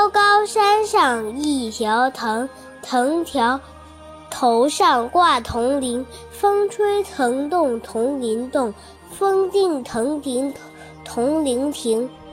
高高山上一条藤，藤条头上挂铜铃，风吹藤动铜铃动，风定藤停铜铃停。